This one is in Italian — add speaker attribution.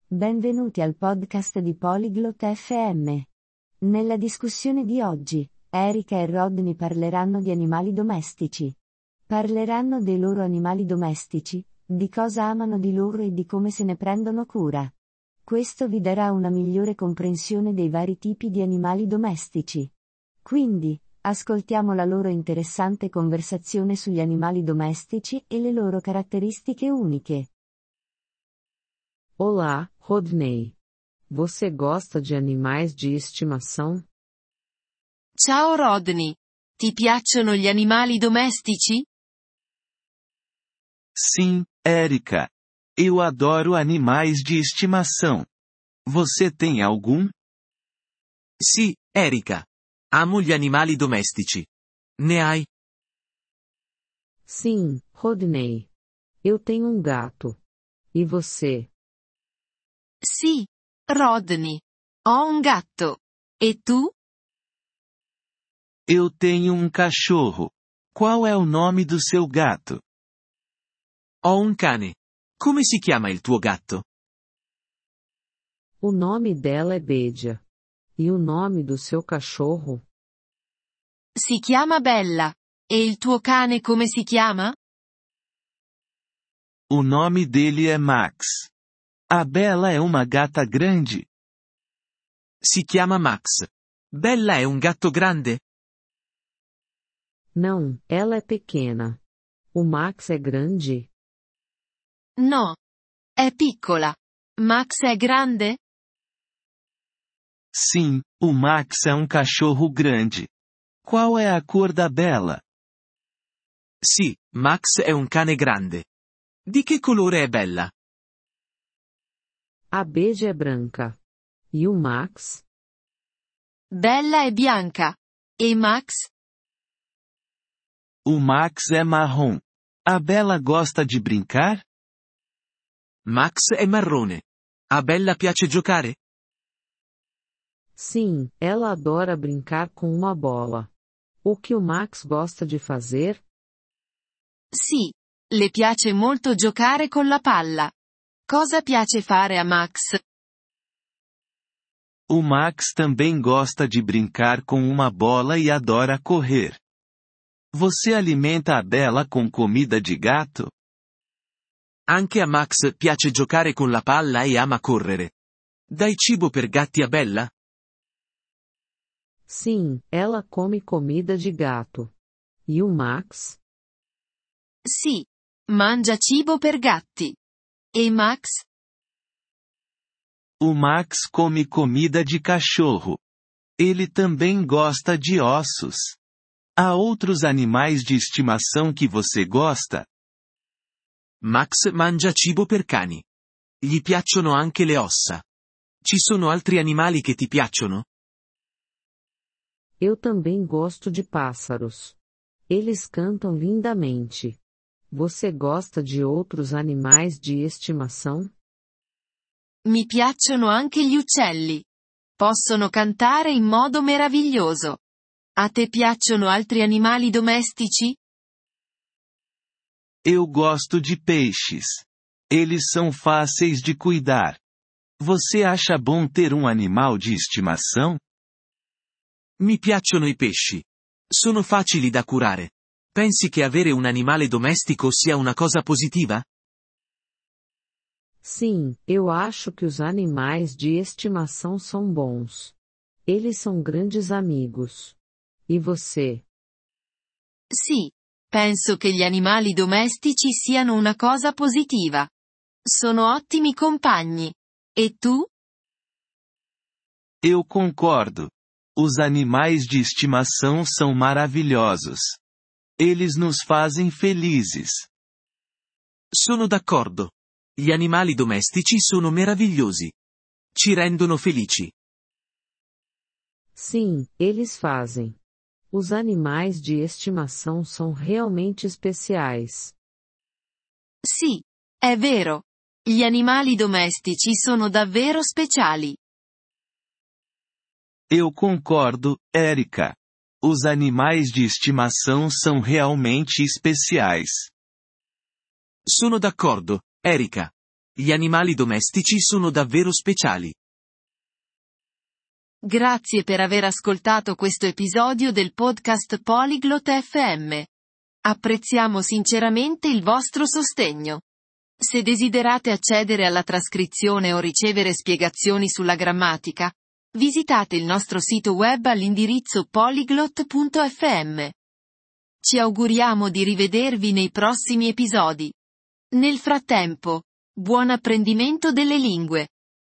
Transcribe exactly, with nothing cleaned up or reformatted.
Speaker 1: Benvenuti al podcast di Polyglot F M. Nella discussione di oggi, Erika e Rodney parleranno di animali domestici. Parleranno dei loro animali domestici, di cosa amano di loro e di come se ne prendono cura. Questo vi darà una migliore comprensione dei vari tipi di animali domestici. Quindi, ascoltiamo la loro interessante conversazione sugli animali domestici e le loro caratteristiche uniche.
Speaker 2: Olá, Rodney. Você gosta de animais de estimação?
Speaker 3: Ciao Rodney. Ti piacciono gli animali domestici?
Speaker 4: Sim, Erika. Eu adoro animais de estimação. Você tem algum?
Speaker 5: Sì, Erika. Amo gli animali domestici. Ne hai?
Speaker 2: Sim, Rodney. Eu tenho um gato. E você?
Speaker 3: Sì, Rodney. Ho un gatto. E tu?
Speaker 4: Eu tenho um cachorro. Qual é o nome do seu gato?
Speaker 5: Ho un cane. Come si chiama il tuo gatto?
Speaker 2: O nome dela é Bedia. E o nome do seu cachorro?
Speaker 3: Si chiama Bella. E il tuo cane come si chiama?
Speaker 4: O nome dele é Max. A Bella é uma gata grande.
Speaker 5: Si chiama Max. Bella è un gatto grande?
Speaker 2: Não, ela é pequena. O Max é grande?
Speaker 3: No. È piccola. Max è grande?
Speaker 4: Sim, o Max é um cachorro grande. Qual é a cor da Bella?
Speaker 5: Sì, Max è un cane grande. Di che colore è Bella?
Speaker 2: A Bedia é branca. E o Max?
Speaker 3: Bella è bianca. E Max?
Speaker 4: O Max é marrom. A Bella gosta de brincar?
Speaker 5: Max è marrone. A Bella piace giocare?
Speaker 2: Sim, ela adora brincar com uma bola. O que o Max gosta de fazer?
Speaker 3: Sì. Le piace molto giocare con la palla. Cosa piace fare a Max?
Speaker 4: O Max também gosta de brincar com uma bola e adora correr. Você alimenta a Bella com comida de gato?
Speaker 5: Anche a Max piace giocare con la palla e ama correre. Dai cibo per gatti a Bella?
Speaker 2: Sim, ela come comida de gato. E o Max?
Speaker 3: Sì. Mangia cibo per gatti. E Max?
Speaker 4: O Max come comida de cachorro. Ele também gosta de ossos. Há outros animais de estimação que você gosta?
Speaker 5: Max mangia cibo per cani. Gli piacciono anche le ossa. Ci sono altri animali che ti piacciono?
Speaker 2: Eu também gosto de pássaros. Eles cantam lindamente. Você gosta de outros animais de estimação?
Speaker 3: Mi piacciono anche gli uccelli. Possono cantare in modo meraviglioso. A te piacciono altri animali domestici?
Speaker 4: Eu gosto de peixes. Eles são fáceis de cuidar. Você acha bom ter um animal de estimação?
Speaker 5: Mi piacciono i pesci. Sono facili da curare. Pensi che avere un animale domestico sia una cosa positiva?
Speaker 2: Sim, eu acho que os animais de estimação são bons. Eles são grandes amigos. E você?
Speaker 3: Sì. Penso che gli animali domestici siano una cosa positiva. Sono ottimi compagni. E tu?
Speaker 4: Eu concordo. Os animais de estimação são maravilhosos. Eles nos fazem felizes.
Speaker 5: Sono d'accordo. Gli animali domestici sono meravigliosi. Ci rendono felici.
Speaker 2: Sim, eles fazem. Os animais de estimação são realmente especiais.
Speaker 3: Sì, è vero. Gli animali domestici sono davvero speciali.
Speaker 4: Eu concordo, Erika. Os animais de estimação são realmente especiais.
Speaker 5: Sono d'accordo, Erika. Gli animali domestici sono davvero speciali.
Speaker 3: Grazie per aver ascoltato questo episodio del podcast Polyglot F M. Apprezziamo sinceramente il vostro sostegno. Se desiderate accedere alla trascrizione o ricevere spiegazioni sulla grammatica, visitate il nostro sito web all'indirizzo polyglot punto f m. Ci auguriamo di rivedervi nei prossimi episodi. Nel frattempo, buon apprendimento delle lingue!